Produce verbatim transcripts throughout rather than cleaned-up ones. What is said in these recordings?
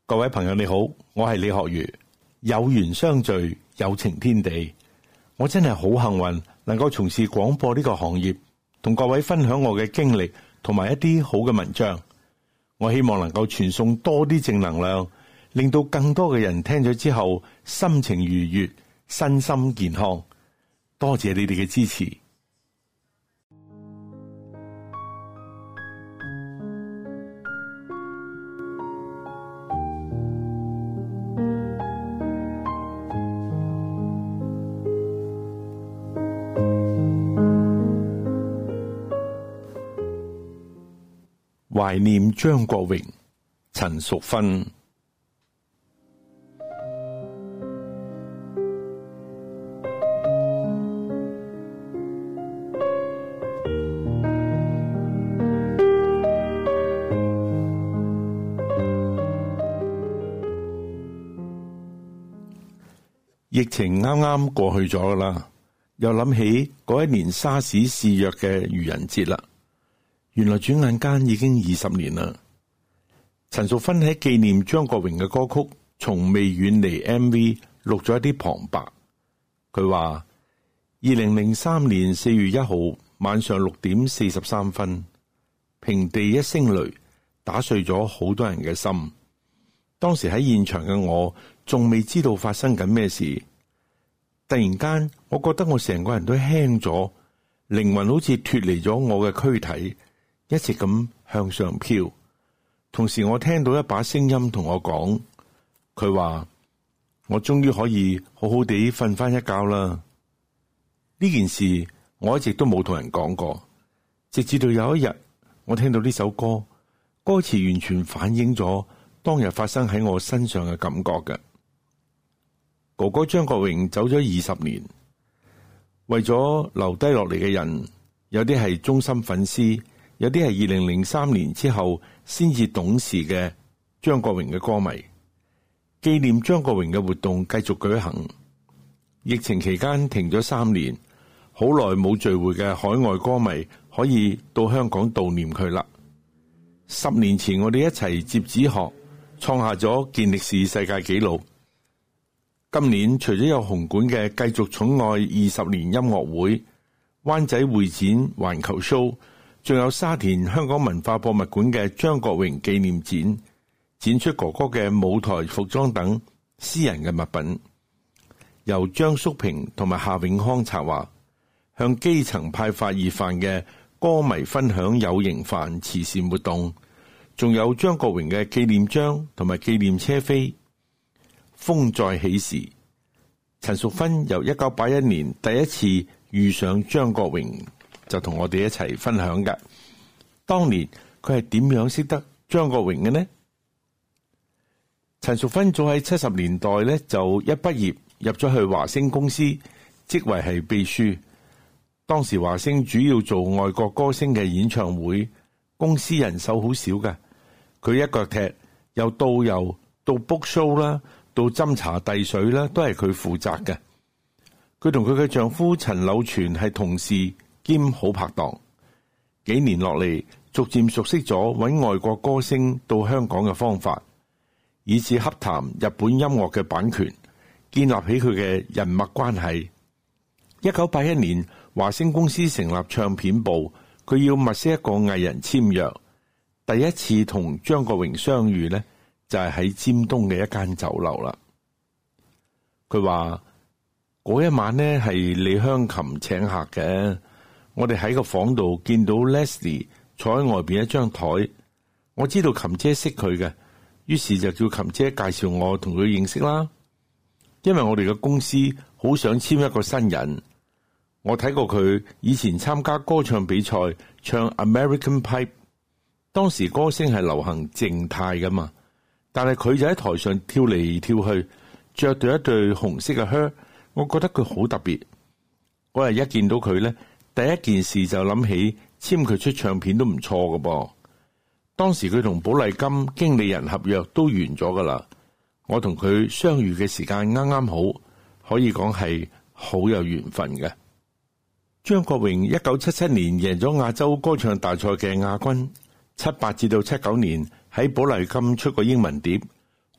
各位朋友你好，我係李學儒。有緣相聚，有情天地。我真係好幸運，能夠從事廣播呢個行業，同各位分享我嘅經歷同埋一啲好嘅文章。我希望能夠傳送多啲正能量，令到更多嘅人聽咗之後心情愉悅，身心健康。多謝你哋嘅支持。懷念張國榮、陳淑芬。疫情啱啱過去咗啦，又諗起嗰一年沙士肆虐嘅愚人節啦。原來轉眼間已經二十年啦。陳淑芬喺紀念張國榮嘅歌曲《從未遠離》M V 錄咗一啲旁白。佢話：二零零三年四月一號晚上六點四十三分，平地一聲雷，打碎咗好多人嘅心。當時喺現場嘅我，仲未知道發生緊咩事。突然間，我覺得我成個人都輕咗，靈魂好似脫離咗我嘅軀體，一直咁向上飄。同時我聽到一把聲音同我講，佢話我終於可以好好地瞓翻一覺啦。呢件事我一直都冇同人講過，直至到有一日我聽到呢首歌，歌詞完全反映咗當日發生喺我身上嘅感覺嘅。哥哥張國榮走咗二十年，為咗留低落嚟嘅人，有啲係忠心粉絲，有啲係二零零三年之後先至懂事嘅張國榮嘅歌迷。紀念張國榮嘅活動繼續舉行。疫情期間停咗三年，好耐冇聚會嘅海外歌迷可以到香港悼念佢啦。十年前我哋一齊摺紙鶴，創下咗健力士世界紀錄。今年除咗有紅館嘅繼續寵愛二十年音樂會、灣仔會展環球 show，仲有沙田香港文化博物館嘅張國榮紀念展，展出哥哥嘅舞台服裝等私人嘅物品，由張淑平同埋夏永康策劃，向基層派發熱飯嘅歌迷分享有型飯慈善活動，仲有張國榮嘅紀念章同埋紀念車飛。風再起時，陳淑芬由一九八一年第一次遇上張國榮，就同我哋一齊分享嘅。當年佢係點樣識得張國榮嘅呢？陳淑芬早喺七十年代咧就一畢業入咗去華星公司，職位係秘書。當時華星主要做外國歌星嘅演唱會，公司人手好少嘅。佢一腳踢，由導遊到 book show 啦，到斟茶遞水啦，都係佢負責嘅。佢同佢嘅丈夫陳柳全係同事兼好拍檔。幾年落嚟，逐漸熟悉咗搵外國歌星到香港嘅方法，以至洽談日本音樂嘅版權，建立起佢嘅人脈關係。一九八一年，華星公司成立唱片部，佢要物色一個藝人簽約。第一次同張國榮相遇呢，就係喺尖東嘅一間酒樓啦。佢話嗰一晚呢係李香琴請客嘅，我哋喺個房度見到 Leslie 坐喺外邊一張台，我知道琴姐識佢嘅，於是就叫琴姐介紹我同佢認識啦。因為我哋嘅公司好想簽一個新人，我睇過佢以前參加歌唱比賽唱 American Pipe， 當時歌星係流行靜態噶嘛。但係佢就喺台上跳嚟跳去，着對一對紅色嘅靴，我覺得佢好特別。嗰日一見到佢呢，第一件事就諗起簽佢出唱片都唔錯㗎噃。當時佢同寶麗金經理人合約都完咗噶啦，我同佢相遇嘅時間啱啱好，可以講係好有緣分嘅。張國榮一九七七年贏咗亞洲歌唱大賽嘅亞軍，七八至到七九年喺寶麗金出過英文碟，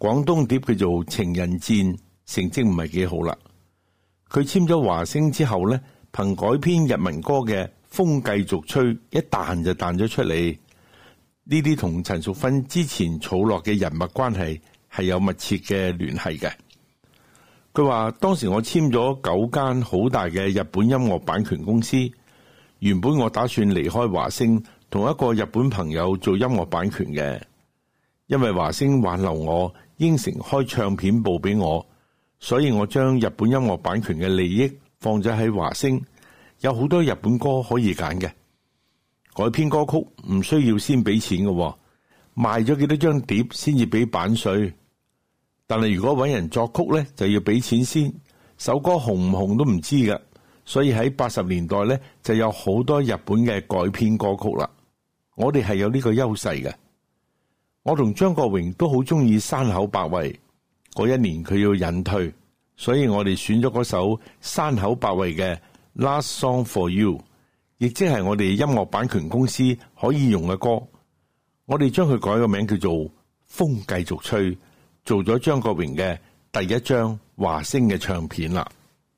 廣東碟叫做《情人戰》，成績唔係幾好啦。佢簽咗華星之後呢，憑改編日文歌嘅《風繼續吹》一彈就彈咗出嚟。呢啲同陳淑芬之前儲落嘅人脈關係係有密切嘅聯繫嘅。佢話當時我簽咗九間好大嘅日本音樂版權公司，原本我打算離開華星，同一個日本朋友做音樂版權嘅，因為華星挽留我，應承開唱片部俾我，所以我將日本音樂版權嘅利益放咗喺華星，有好多日本歌可以揀嘅。改編歌曲唔需要先俾錢嘅，賣咗幾多張碟先至俾版稅。但係如果搵人作曲呢，就要俾錢先，首歌紅唔紅都唔知㗎。所以喺八十年代呢，就有好多日本嘅改編歌曲啦。我哋係有呢個優勢嘅。我同張國榮都好中意山口百惠，嗰一年佢要隱退，所以我哋選咗嗰首山口百惠嘅 Last Song for You， 亦即係我哋音樂版權公司可以用嘅歌。我哋將佢改個名叫做《風繼續吹》，做咗張國榮嘅第一張華星嘅唱片啦。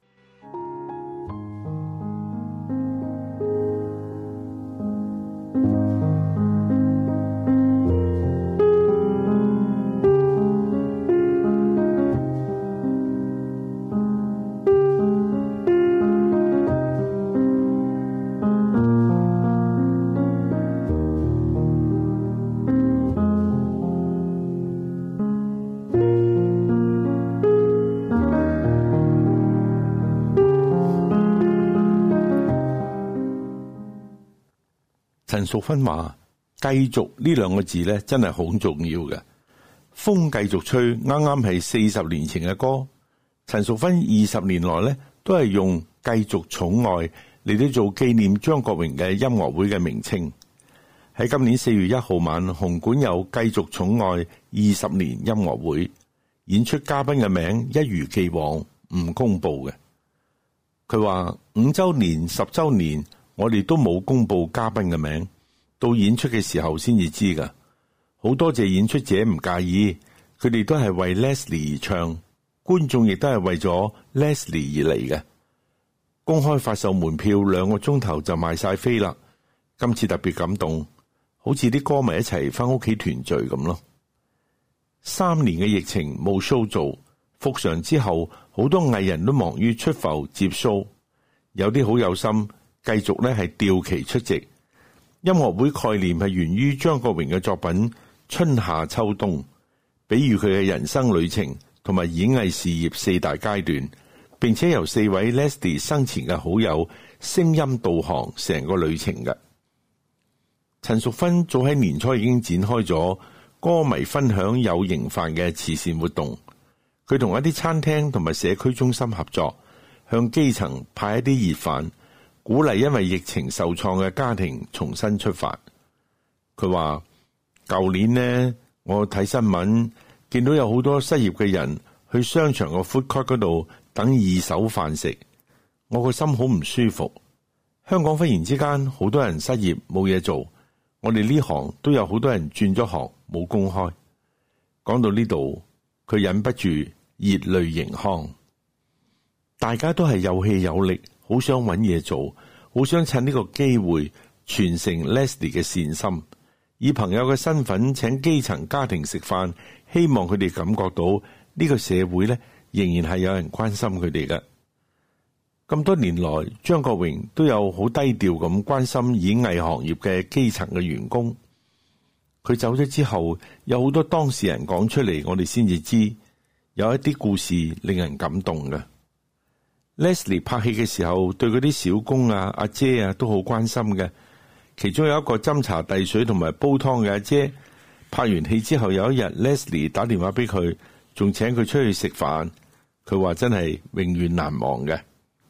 陳淑芬話：繼續呢兩個字咧，真係好重要嘅。風繼續吹，啱啱係四十年前嘅歌。陳淑芬二十年來咧，都係用繼續寵愛嚟到做紀念張國榮嘅音樂會嘅名稱。喺今年四月一號晚，紅館有繼續寵愛二十年音樂會，演出嘉賓嘅名一如既往唔公布嘅。佢話五周年、十周年。我哋都冇公布嘉賓嘅名，到演出嘅時候先至知噶。好多謝演出者唔介意，佢哋都係為 Leslie 而唱，觀眾亦都係為咗 Leslie 而嚟嘅。公開發售門票兩個鐘頭就賣晒飛啦。今次特別感動，好似啲歌迷一齊翻屋企團聚咁咯。三年嘅疫情冇 show 做，復常之後，好多藝人都忙於出埠接 show，有啲好有心。繼續咧係調期出席音樂會，概念係源於張國榮嘅作品《春夏秋冬》，比喻佢嘅人生旅程同埋演藝事業四大階段，並且由四位 Leslie 生前嘅好友聲音導航成個旅程嘅。陳淑芬早喺年初已經展開咗歌迷分享有型飯嘅慈善活動，佢同一啲餐廳同埋社區中心合作，向基層派一啲熱飯，鼓勵因為疫情受創嘅家庭重新出發。佢話舊年呢，我睇新聞見到有好多失業嘅人去商場個 food court 嗰度等二手飯食，我個心好唔舒服。香港忽然之間好多人失業冇嘢做，我哋呢行都有好多人轉咗行冇工開。講到呢度，佢忍不住熱淚盈眶。大家都係有氣有力，好想揾嘢做，好想趁呢個機會傳承 Leslie 嘅善心，以朋友嘅身份請基層家庭食飯，希望佢哋感覺到呢個社會咧仍然係有人關心佢哋嘅。咁多年來，張國榮都有好低調咁關心演藝行業嘅基層嘅員工。佢走咗之後，有好多當事人講出嚟，我哋先至知有一啲故事令人感動嘅。Leslie 拍戲嘅時候，對嗰啲小工啊、阿姐啊都好關心嘅。其中有一個斟茶遞水同埋煲湯嘅阿姐，拍完戲之後有一日 Leslie 打電話俾佢，仲請佢出去食飯。佢話真係永遠難忘嘅。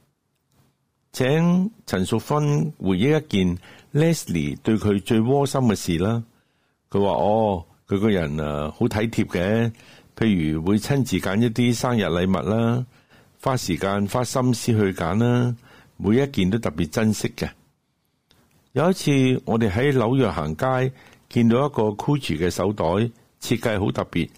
請陳淑芬回憶一件 Leslie 對佢最窩心嘅事啦。佢話哦，佢個人啊好體貼嘅，譬如會親自揀一啲生日禮物啦，花時間花心思去揀啦，每一件都特別珍惜嘅。有一次我哋喺紐約行街，見到一個 Gucci 嘅手袋，設計好特別，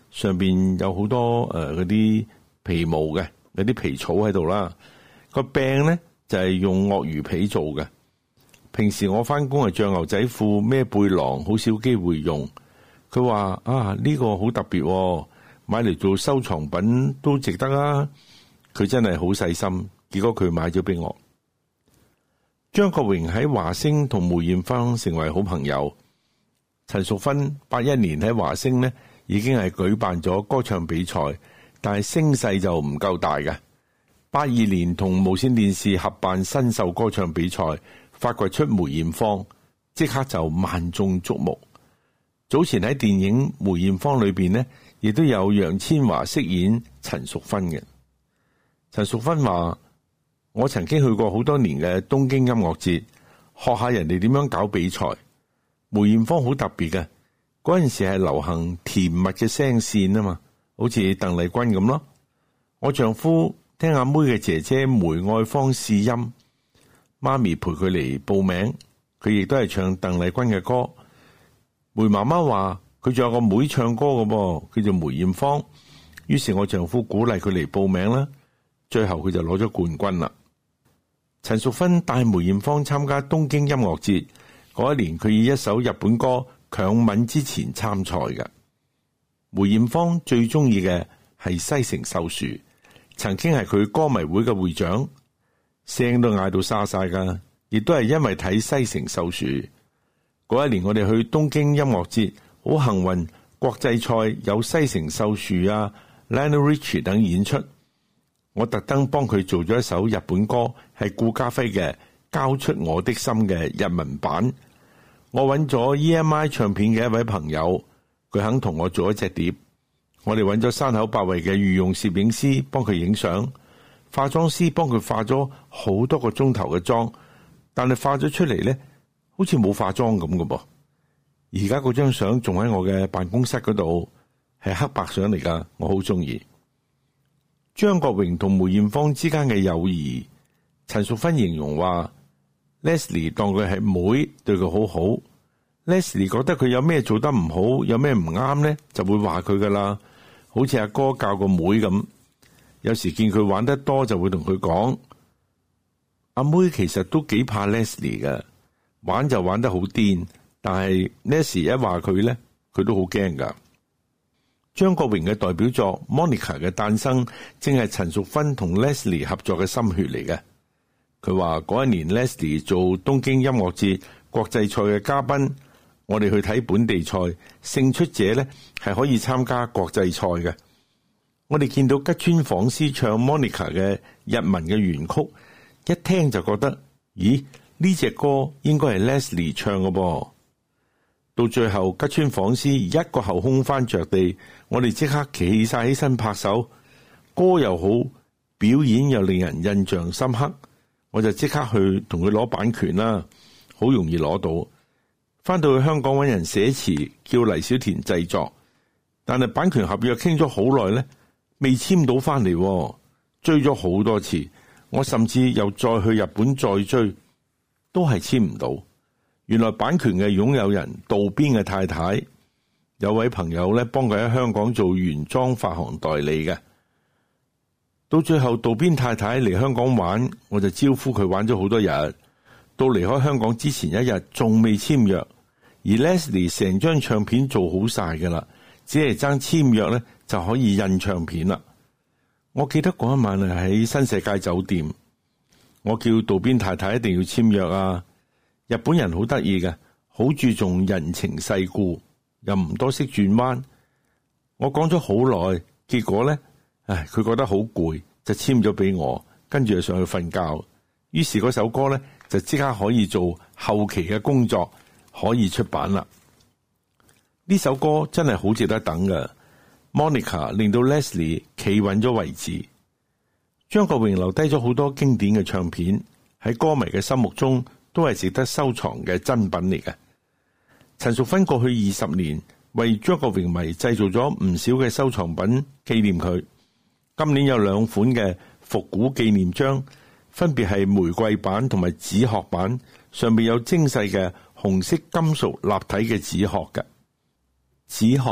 上邊有好多誒嗰啲皮毛嘅，有啲皮草喺度啦。個柄咧就係用鱷魚皮做嘅。平時我翻工係着牛仔褲孭背囊，好少機會用。佢話啊，呢個好特別，買嚟做收藏品都值得啊。佢真係好細心，結果佢買咗俾我。張國榮喺華星同梅艷芳成為好朋友。陳淑芬八一年喺華星呢已經係舉辦咗歌唱比賽，但係聲勢就唔夠大嘅。八二年同無線電視合辦新秀歌唱比賽，發掘出梅艷芳，即刻就萬眾矚目。早前喺電影《梅艷芳》裏邊呢，亦都有楊千嬅飾演陳淑芬嘅。陳淑芬話：我曾經去過好多年嘅東京音樂節，學下人哋點樣搞比賽。梅艷芳好特別嘅，嗰陣時係流行甜蜜嘅聲線啊嘛，好似鄧麗君咁咯。我丈夫聽阿妹嘅姐姐梅愛芳試音，媽咪陪佢嚟報名，佢亦都係唱鄧麗君嘅歌。梅媽媽話佢仲有個妹唱歌嘅噃，叫做梅艷芳。於是我丈夫鼓勵佢嚟報名啦，最後佢就攞咗冠軍啦。陳淑芬帶梅艷芳參加東京音樂節。嗰一年佢以一首日本歌《強吻之前》參賽嘅。梅艷芳最中意嘅係西城秀樹，曾經係佢歌迷會嘅會長，聲都嗌到沙晒噶，亦都係因為睇西城秀樹。嗰一年我哋去東京音樂節，好幸運，國際賽有西城秀樹啊、Lionel Richie 等演出，我特登幫佢做咗一首日本歌，係顧嘉輝嘅《交出我的心》嘅日文版。我揾咗 E M I 唱片嘅一位朋友，佢肯同我做一隻碟。我哋揾咗山口百惠嘅御用攝影師幫佢影相，化妝師幫佢化咗好多個鐘頭嘅妝，但係化咗出嚟呢，好似冇化妝咁嘅噃。而家嗰張相仲喺我嘅辦公室嗰度，係黑白相嚟噶，我好中意。張國榮同梅艷芳之間嘅友誼，陳淑芬形容話，Leslie 當佢係妹，對佢好好。Leslie 覺得佢有咩做得唔好，有咩唔啱呢，就會話佢噶啦。好似阿哥教個妹咁，有時見佢玩得多，就會同佢講。阿妹其實都幾怕 Leslie 嘅，玩就玩得好癲，但係 Leslie 一話佢呢，佢都好驚噶。張國榮嘅代表作 Monica 嘅誕生，正係陳淑芬同 Leslie 合作嘅心血嚟嘅。佢話嗰一年 Leslie 做東京音樂節國際賽嘅嘉賓，我哋去睇本地賽，勝出者呢係可以參加國際賽嘅。我哋見到吉川晃司唱 Monica 嘅日文嘅原曲，一聽就覺得，咦，呢隻歌應該係 Leslie 唱嘅噃。到最後吉川晃司一個後空翻着地，我哋即刻企晒起身拍手，歌又好，表演又令人印象深刻。我就即刻去同佢攞版權啦，好容易攞到。翻到去香港揾人寫詞，叫黎小田製作，但係版權合約傾咗好耐呢，未簽到翻嚟，追咗好多次，我甚至又再去日本再追，都係簽唔到。原來版權嘅擁有人渡邊嘅太太，有位朋友咧幫佢喺香港做原裝發行代理嘅。到最後渡邊太太嚟香港玩，我就招呼佢玩咗好多日。到離開香港之前一日仲未簽約，而 Leslie 成張唱片做好晒噶啦，只係爭簽約咧就可以印唱片啦。我記得嗰一晚係喺新世界酒店，我叫渡邊太太一定要簽約啊。日本人好得意嘅，好注重人情世故，又唔多識轉彎。我講咗好耐，結果咧，唉，佢覺得好攰，就簽咗俾我，跟住就上去瞓覺。於是嗰首歌咧就即刻可以做後期嘅工作，可以出版啦。呢首歌真係好值得等㗎。Monica 令到 Leslie 企穩咗位置。張國榮留低咗好多經典嘅唱片，喺歌迷嘅心目中都係值得收藏嘅珍品嚟嘅。陳淑芬過去二十年為張國榮迷製造咗唔少嘅收藏品紀念佢。今年有兩款嘅復古紀念章，分別係玫瑰版同埋紙殼版，上面有精細嘅紅色金屬立體嘅紙殼嘅。紙殼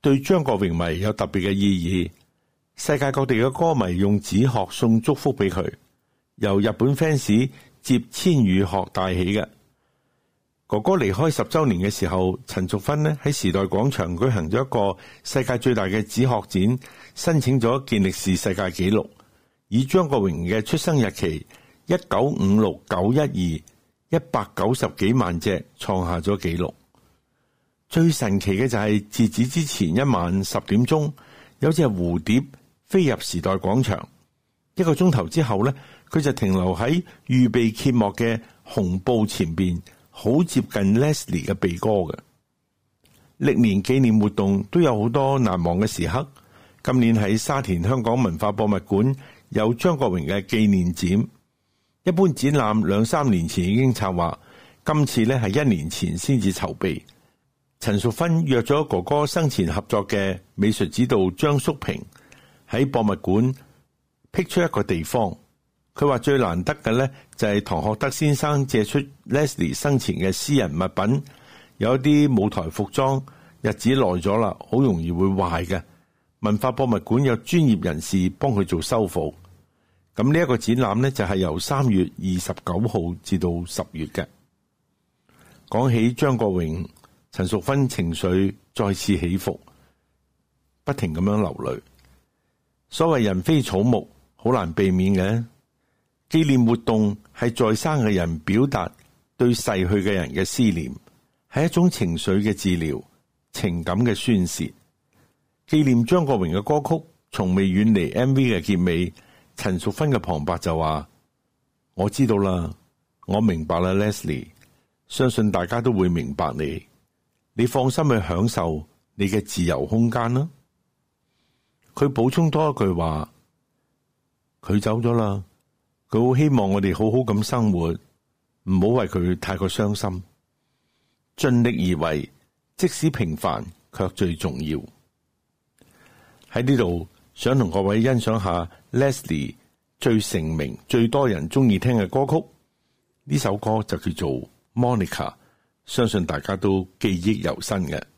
對張國榮迷有特別嘅意義。世界各地嘅歌迷用紙鶴送祝福俾佢，由日本 fans 接千羽鶴帶起嘅。哥哥離開十周年嘅時候，陳淑芬呢喺時代廣場舉行咗一個世界最大嘅紙鶴展，申請咗健力士世界紀錄，以張國榮嘅出生日期一九五六九一二一百九十幾萬隻創下咗紀錄。最神奇嘅就係截止之前一晚十點鐘，有隻蝴蝶飛入時代廣場，一個鐘頭之後呢，佢就停留喺預備揭幕嘅紅布前邊，好接近 Leslie 嘅鼻哥嘅。歷年紀念活動都有好多難忘嘅時刻。今年喺沙田香港文化博物館有張國榮嘅紀念展，一般展覽兩三年前已經策劃，今次呢係一年前先至籌備。陳淑芬約咗哥哥生前合作嘅美術指導張叔平喺博物館闢出一個地方。佢話最難得嘅呢，就係唐學德先生借出 Leslie 生前嘅私人物品，有一啲舞台服裝日子耐咗啦，好容易會壞嘅。文化博物館有專業人士幫佢做修復。咁呢一個展覽呢，就係由三月二十九號至到十月嘅。講起張國榮，陳淑芬情緒再次起伏，不停咁樣流淚。所謂人非草木，好難避免嘅。紀念活動係在生嘅人表達對逝去嘅人嘅思念，係一種情緒嘅治療，情感嘅宣洩。紀念張國榮嘅歌曲從未遠離 M V 嘅結尾，陳淑芬嘅旁白就話：我知道啦，我明白啦 Leslie， 相信大家都會明白你。你放心去享受你嘅自由空間啦。佢補充多一句話：佢走咗啦，佢好希望我哋好好咁生活，唔好為佢太過傷心，盡力而為，即使平凡卻最重要。喺呢度想同各位欣賞下 Leslie 最成名、最多人中意聽嘅歌曲，呢首歌就叫做 Monica， 相信大家都記憶猶新嘅。